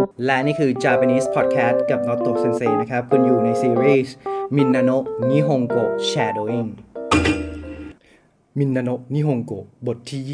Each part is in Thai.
และนี่คือ Japanese Podcast กับ Noto Sensei นะครับคุณอยู่ในซีรีส์ Minano Nihongo Shadowing Minano Nihongo บทที่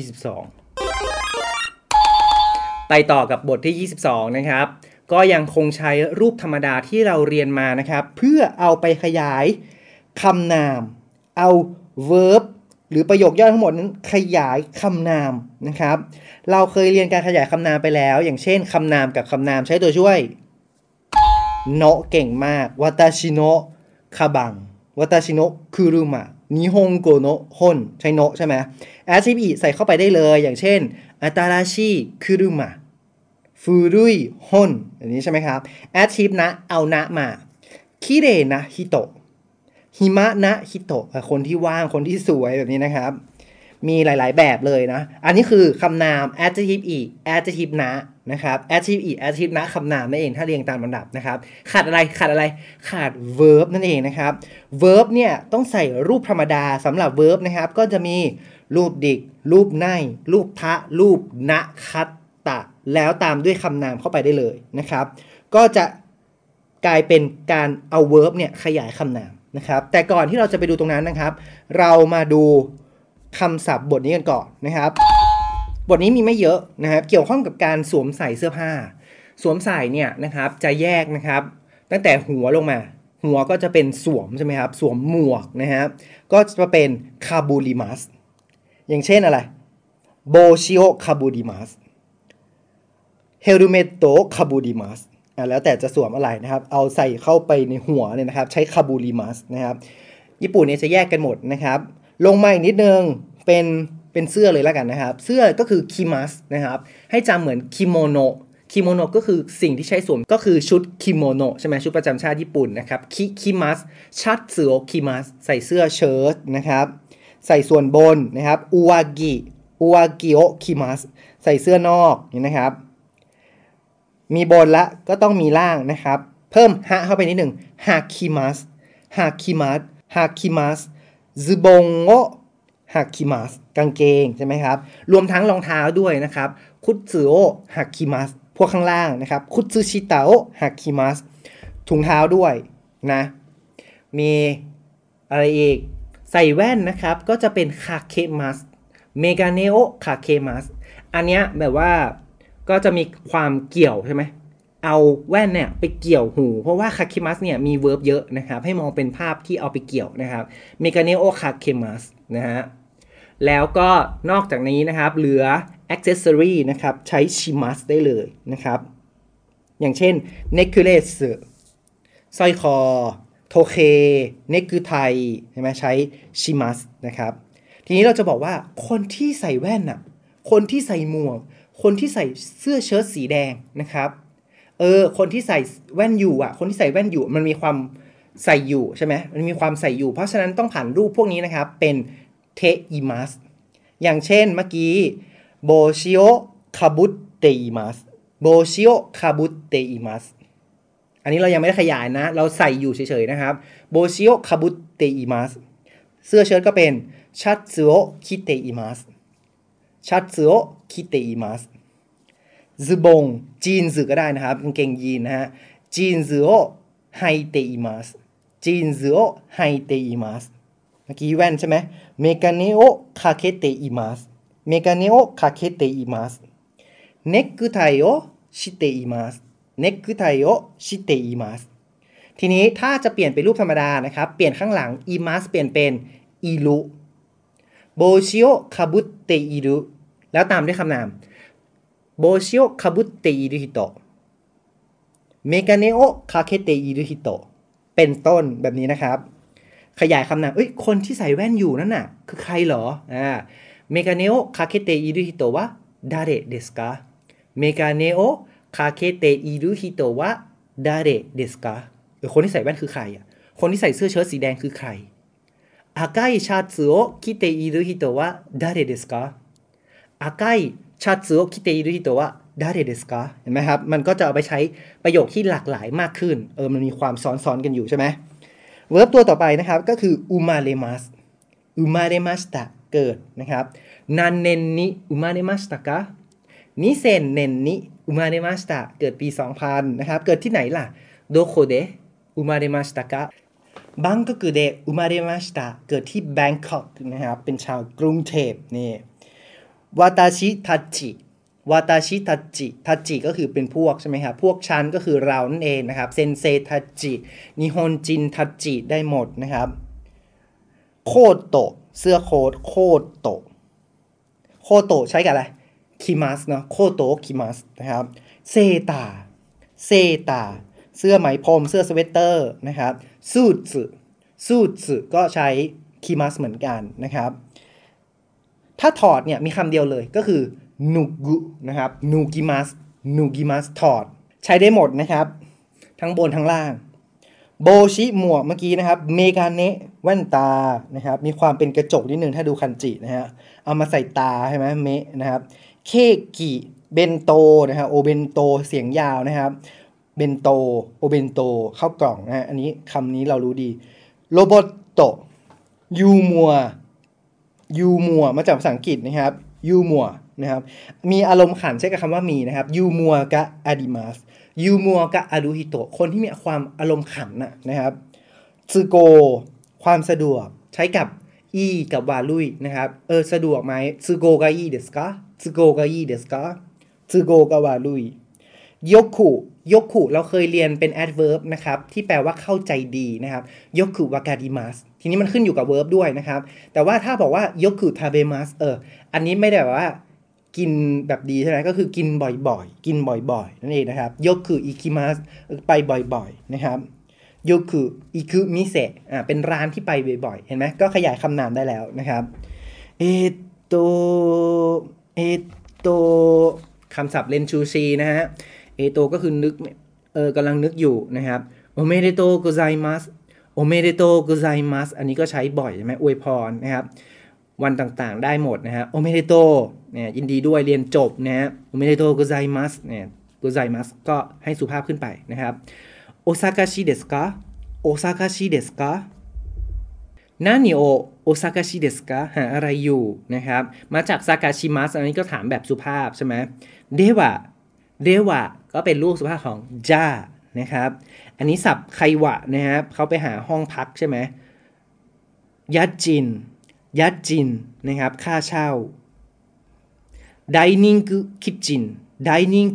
22ไปต่อกับบทที่ 22นะครับก็ยังคงใช้รูปธรรมดาที่เราเรียนมานะครับเพื่อเอาไปขยายคำนามเอา verb หรือประโยคย่อทั้งหมดนั้นขยายคำนามนะครับเราเคยเรียนการขยายคำนามไปแล้วอย่างเช่นคำนามกับคำนามใช้ตัวช่วยโนะเก่งมากวาตาชิโนะคาบังวาตาชิโนะคุรุมะนิฮงโกโนะฮอนใช้โนะใช่ไหม adjective อิใส่เข้าไปได้เลยอย่างเช่นอาตาราชิคุรุมะฟูรุยฮอนอันนี้ใช่ไหมครับ adjective นะเอานะมาคิเรนะฮิโตะหิมะนะฮิโตะคนที่ว่างคนที่สวยแบบนี้นะครับมีหลายๆแบบเลยนะอันนี้คือคำนาม adjective อิ adjective นะครับ adjective อิ adjective นะคำนามนั่นเองถ้าเรียงตามลำดับนะครับขาดอะไรขาด verb นั่นเองนะครับ verb เนี่ยต้องใส่รูปธรรมดาสำหรับ verb นะครับก็จะมีรูปดิกรูปไนรูปทะรูปนะคัตตะแล้วตามด้วยคำนามเข้าไปได้เลยนะครับก็จะกลายเป็นการเอา verb เนี่ยขยายคำนามนะครับแต่ก่อนที่เราจะไปดูตรงนั้นนะครับเรามาดูคำศัพท์บทนี้กันก่อนนะครับบทนี้มีไม่เยอะนะครับเกี่ยวข้องกับการสวมใส่เสื้อผ้าสวมใส่เนี่ยนะครับจะแยกนะครับตั้งแต่หัวลงมาหัวก็จะเป็นสวมใช่ไหมครับสวมหมวกนะครับก็จะเป็นคาบูริมัสอย่างเช่นอะไรโบชิโอคาบูริมัสเฮลเมตโตคาบูริมัสแล้วแต่จะสวมอะไรนะครับเอาใส่เข้าไปในหัวเนี่ยนะครับใช้คาบูริมัสนะครับญี่ปุ่นเนี่ยจะแยกกันหมดนะครับลงมาอีกนิดนึงเป็นเสื้อเลยแล้วกันนะครับเสื้อก็คือคิมัสนะครับให้จำเหมือนคิโมโนะก็คือสิ่งที่ใช้สวมก็คือชุดคิโมโนะใช่ไหมชุดประจำชาติญี่ปุ่นนะครับคิมัสชัตสึโอคิมัสใส่เสื้อเชิ้ตนะครับใส่ส่วนบนนะครับอุวากิโอคิมัสใส่เสื้อนอกนี่นะครับมีบนละก็ต้องมีล่างนะครับเพิ่มฮะเข้าไปนิดหนึ่งฮาคิมัสซึบงโอฮาคิมัสกางเกงใช่ไหมครับรวมทั้งรองเท้าด้วยนะครับคุตสึโอฮาคิมัสพวกข้างล่างนะครับคุตสึชิตะโอฮาคิมัสถุงเท้าด้วยนะมีอะไรอีกใส่แว่นนะครับก็จะเป็นคาเคมัสเมกาเนโอคาเคมัสอันเนี้ยแบบว่าก็จะมีความเกี่ยวใช่ไหมเอาแว่นเนี่ยไปเกี่ยวหูเพราะว่าคาเคมัสเนี่ยมีเวิร์บเยอะนะครับให้มองเป็นภาพที่เอาไปเกี่ยวนะครับเมกาเนโอคาเคมัสนะฮะแล้วก็นอกจากนี้นะครับเหลือ accessory นะครับใช้ชิมัสได้เลยนะครับอย่างเช่น necklace สร้อยคอโทเคเนกคือไทยใช่ไหมใช้ชิมัสนะครับทีนี้เราจะบอกว่าคนที่ใส่แว่นน่ะคนที่ใส่หมวกคนที่ใส่เสื้อเชิ้ตสีแดงนะครับคนที่ใส่แว่นอยู่อ่ะคนที่ใส่แว่นอยู่มันมีความใส่อยู่ใช่ไหมมันมีความใส่อยู่เพราะฉะนั้นต้องผ่านรูปพวกนี้นะครับเป็นเทอิมัสอย่างเช่นเมื่อกี้โบชิโอคาบุเตอิมัสโบชิโอคาบุเตอิมัสอันนี้เรายังไม่ได้ขยายนะเราใส่อยู่เฉยๆนะครับโบชิโอคาบุเตอิมัสเสื้อเชิ้ตก็เป็นชัตสึโอคิเตอิมัสซึบงจีนส์ก็ได้นะครับกางเกงยีนนะฮะจีนส์โอไฮเตอิมัสเมื่อกี้แว่นใช่ไหมเมกาเนโอคาเคเตอิมัสเนกไทโอชิเตอิมัสทีนี้ถ้าจะเปลี่ยนเป็นรูปธรรมดานะครับเปลี่ยนข้างหลังอิมัสเปลี่ยนเป็นอิรุโบชิโอคาบุเตอิรุแล้วตามด้วยคำนามโบชิโอคาบุเตอิรุฮิโตะเมกาเนโอคาเคเตอิรุฮิโตะเป็นต้นแบบนี้นะครับขยายคำนามคนที่ใส่แว่นอยู่นั่นน่ะคือใครเหรอเมกาเนโอคาเคเตอิรุฮิโตะวะดาเรเดสกาเมกาเนโอคาเคเตอิรุฮิโตะวะดาเรเดสกาคนที่ใส่แว่นคือใครคนที่ใส่เสื้อเชิ้ตสีแดงคือใคร赤いシャツを着ている人は誰ですか赤いシャツを着ている人は誰ですかเห็นไหมครับมันก็จะเอาไปใช้ประโยคที่หลากหลายมากขึ้นมันมีความซ้อนๆกันอยู่ใช่ไหมเวิร์บตัวต่อไปนะครับก็คืออุมาเรมัสตะเกิดนะครับนันเนนนิอุมาเรมัสตะกะนิเซนเนนนิอุมาเดมาสตะเกิดปี 2000 นะครับเกิดที่ไหนล่ะโดโคเดอุมาเดมาสตะกะบังกอกเดอุมาเดมาสตะเกิดที่แบงคอกนะครับเป็นชาวกรุงเทพนี่วาตาชิทัจิวาตาชิทัจิทัจิก็คือเป็นพวกใช่ไหมครับพวกชั้นก็คือเรานั่นเองนะครับเซนเซทัจินิฮอนจินทัจิได้หมดนะครับโคโตะเสื้อโค้ทโคโตะโคโตะใช้กับอะไรคิมัสเนาะโคโตะคิมัสนะครับเซตาเซตาเสื้อไหมพรมเสื้อสเวตเตอร์นะครับซูทสึซูทสึก็ใช้คิมัสเหมือนกันนะครับถ้าถอดเนี่ยมีคำเดียวเลยก็คือนูกุนะครับนูกิมัสนูกิมัสถอดใช้ได้หมดนะครับทั้งบนทั้งล่างโบชิหมวกเมื่อกี้นะครับเมกาเนะแว่นตานะครับมีความเป็นกระจกนิดนึงถ้าดูคันจินะฮะเอามาใส่ตาใช่ไหมเมะนะครับเคกิเบนโตนะครับโอเบนโตเสียงยาวนะครับเบนโตโอเบนโตเข้ากล่องนะฮะอันนี้คำนี้เรารู้ดีโรบอตโตยูมัวยูมัวมาจากภาษาอังกฤษนะครับยูมัวนะครับมีอารมณ์ขันใช้กับคำว่ามีนะครับยูมัวกะอาดิมัสยูมัวกะอารุฮิโตะคนที่มีความอารมณ์ขันนะครับซึโกความสะดวกใช้กับอีกับวาลุยนะครับสะดวกไหมซึโกกะอีเดสกะซึโกกะอีเดสกะซึโกกะวาลุยยกคุยกคุเราเคยเรียนเป็น adverb นะครับที่แปลว่าเข้าใจดีนะครับยกคุวากาดิมัสทีนี้มันขึ้นอยู่กับ verb ด้วยนะครับแต่ว่าถ้าบอกว่ายกคุทาเบมัสอันนี้ไม่ได้แบบว่ากินแบบดีใช่ไหมก็คือกินบ่อยๆกินบ่อยๆนั่นเองนะครับยกคุอิคิมัสไปบ่อยๆนะครับยกคุอิคุมิเซะเป็นร้านที่ไปบ่อยๆเห็นไหมก็ขยายคำนามได้แล้วนะครับเอโตคำศัพท์เรนชูชีนะฮะเอโตก็คือนึกกำลังนึกอยู่นะครับโอเมเดโตโกไซมัสโอเมเดโตโกไซมัสอันนี้ก็ใช้บ่อยใช่ไหมอวยพรนะครับวันต่างๆได้หมดนะฮะโอเมเดโตเนี่ยยินดีด้วยเรียนจบนะฮะโอเมเดโตโกไซมัสเนี่ยโกไซมัสก็ให้สุภาพขึ้นไปนะครับโอซากาชิเดสกะโอซากาชิเดสกะนานิโอโอซากาชิเดสกะหาอะไรอยู่นะครับมาจากซากาชิมัสอันนี้ก็ถามแบบสุภาพใช่ไหมเดวะก็เป็นรูปสุภาพของจ้านะครับอันนี้ศัพท์ไควะนะครับเขาไปหาห้องพักใช่ไหมยัดจินนะครับค่าเช่าไดนิ่งคิทชินไดนิ่ง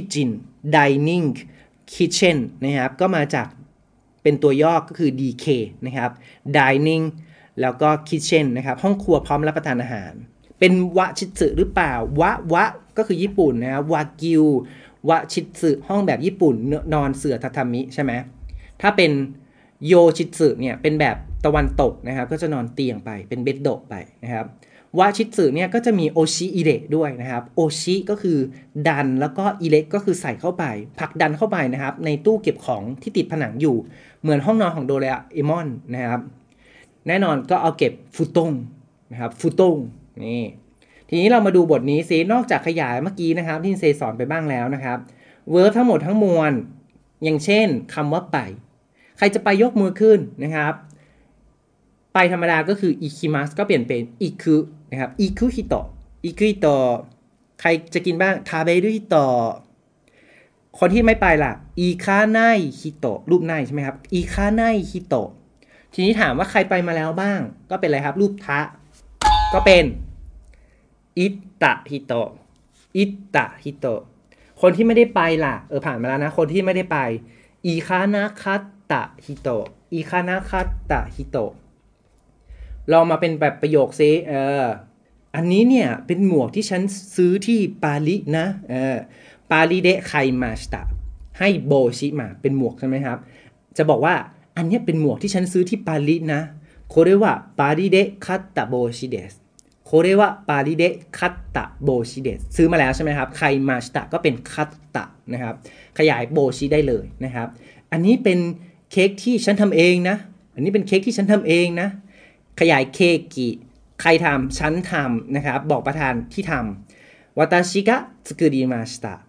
คิทเช่นนะครับก็มาจากเป็นตัวย่อก็คือ DK นะครับ dining แล้วก็ kitchen นะครับห้องครัวพร้อมรับประทานอาหารเป็นวะชิสึหรือเปล่าวะก็คือญี่ปุ่นนะครับวากิววะชิสึห้องแบบญี่ปุ่นนอนเสื่อทาทามิใช่ไหมถ้าเป็นโยชิสึเนี่ยเป็นแบบตะวันตกนะครับก็จะนอนเตียงไปเป็นเบดโดะไปนะครับวะชิสึเนี่ยก็จะมีโอชิอิเระด้วยนะครับโอชิก็คือดันแล้วก็อิเระก็คือใส่เข้าไปผลักดันเข้าไปนะครับในตู้เก็บของที่ติดผนังอยู่เหมือนห้องนอนของโดเรมอนนะครับแน่นอนก็เอาเก็บฟุตงนะครับฟุตงนี่ทีนี้เรามาดูบทนี้ซินอกจากขยายเมื่อกี้นะครับที่เซสอนไปบ้างแล้วนะครับเวิร์บทั้งหมดทั้งมวลอย่างเช่นคำว่าไปใครจะไปยกมือขึ้นนะครับไปธรรมดาก็คืออิคิมัสก็เปลี่ยนเป็นอิคุนะครับอิคุฮิโตใครจะกินบ้างทาเบรุฮิโตคนที่ไม่ไปล่ะอิคาไนฮิโตรูปไนใช่ไหมครับอิคาไนฮิโตทีนี้ถามว่าใครไปมาแล้วบ้างก็เป็นอะไรครับรูปทะก็เป็นอิตะฮิโตคนที่ไม่ได้ไปล่ะผ่านมาแล้วนะคนที่ไม่ได้ไปอิคานาคัตตะฮิโตลองมาเป็นแบบประโยคซิอันนี้เนี่ยเป็นหมวกที่ฉันซื้อที่ปารินะปาริเดะไคมาสตะให้โบชิมาเป็นหมวกใช่ไหมครับจะบอกว่าอันนี้เป็นหมวกที่ฉันซื้อที่ปารินะโคเรวะปาริเดะคัตตะโบชิเดสโคเรวะปาริเดะคัตตะโบชิเดสซื้อมาแล้วใช่ไหมครับไคมาสตะก็เป็นคัตตะนะครับขยายโบชิได้เลยนะครับอันนี้เป็นเค้กที่ฉันทำเองนะอันนี้เป็นเค้กที่ฉันทำเองนะขยายเคกิใครทำฉันทำนะครับบอกประธานที่ทำวาตาชิกะสึกุริมาชิตะ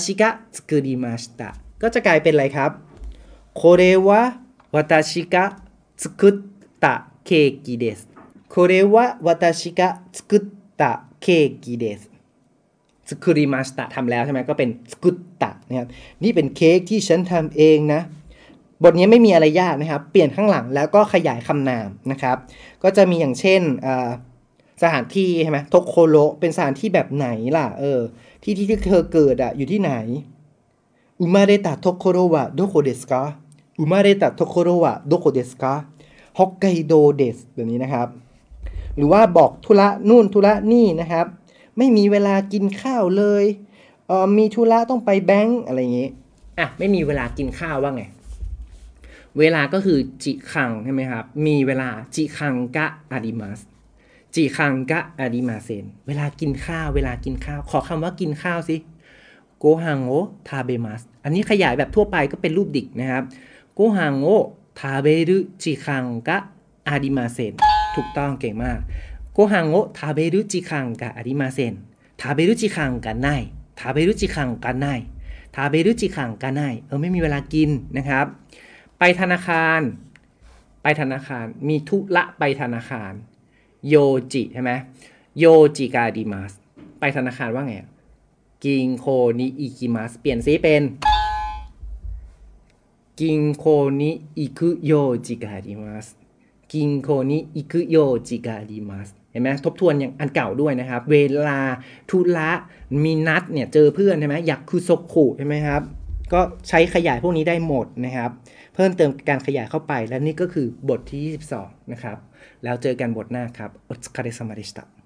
ก็จะกลายเป็นอะไรครับโคเรวะวาตาชิกะสึกุตะเคกิเดสโคเรวะวาตาชิกะสึกุตะเคกิเดสสกุริมาสตะทำแล้วใช่ไหมก็เป็นสกุตตะนะครับนี่เป็นเค้กที่ฉันทำเองนะบทนี้ไม่มีอะไรยากนะครับเปลี่ยนข้างหลังแล้วก็ขยายคำนามนะครับก็จะมีอย่างเช่นสถานที่ใช่ไหมโทโคโรเป็นสถานที่แบบไหนล่ะที่เธอเกิดอยู่ที่ไหนอุมาเรตะโทโคโรวะโดโคเดสกาอุมาเรตะโทโคโรวะโดโคเดสกาฮอกไกโดเดสแบบนี้นะครับหรือว่าบอกธุระนู่นธุระนี่นะครับไม่มีเวลากินข้าวเลยมีธุระต้องไปแบงก์อะไรอย่างงี้ไม่มีเวลากินข้าวว่าไงเวลาก็คือจิคังใช่ไหมครับมีเวลาจิคังกะอาริมัสจิคังกะอาริมาเซนเวลากินข้าวขอคำว่ากินข้าวสิโกฮังโอทาเบมัสอันนี้ขยายแบบทั่วไปก็เป็นรูปดิกนะครับโกฮังโอทาเบรุจิคังกะอาริมาเซนถูกต้องเก่งมากโกฮังโอทาเบรุจิคังกะอาริมาเซนทาเบรุจิคังกะไนทาเบรุจิคังกะไนทาเบรุจิคังกะไนไม่มีเวลากินนะครับไปธนาคารมีธุระไปธนาคารโยจิใช่ไหมโยจิกาดิมัสไปธนาคารว่าไงกิงโคนิอิกิมัสเปลี่ยนซิเป็นกิงโคนิอิคุโยจิกาดิมัสกิงโคนิอิคุโยจิกาดิมัสเห็นไหมทบทวนอย่างอันเก่าด้วยนะครับเวลาธุระมีนัดเนี่ยเจอเพื่อนใช่ไหมอยากคุโซคุใช่ไหมครับก็ใช้ขยายพวกนี้ได้หมดนะครับเพิ่มเติมการขยายเข้าไปและนี่ก็คือบทที่22นะครับแล้วเจอกันบทหน้าครับโอตสึคาเรซามะเดชิตะ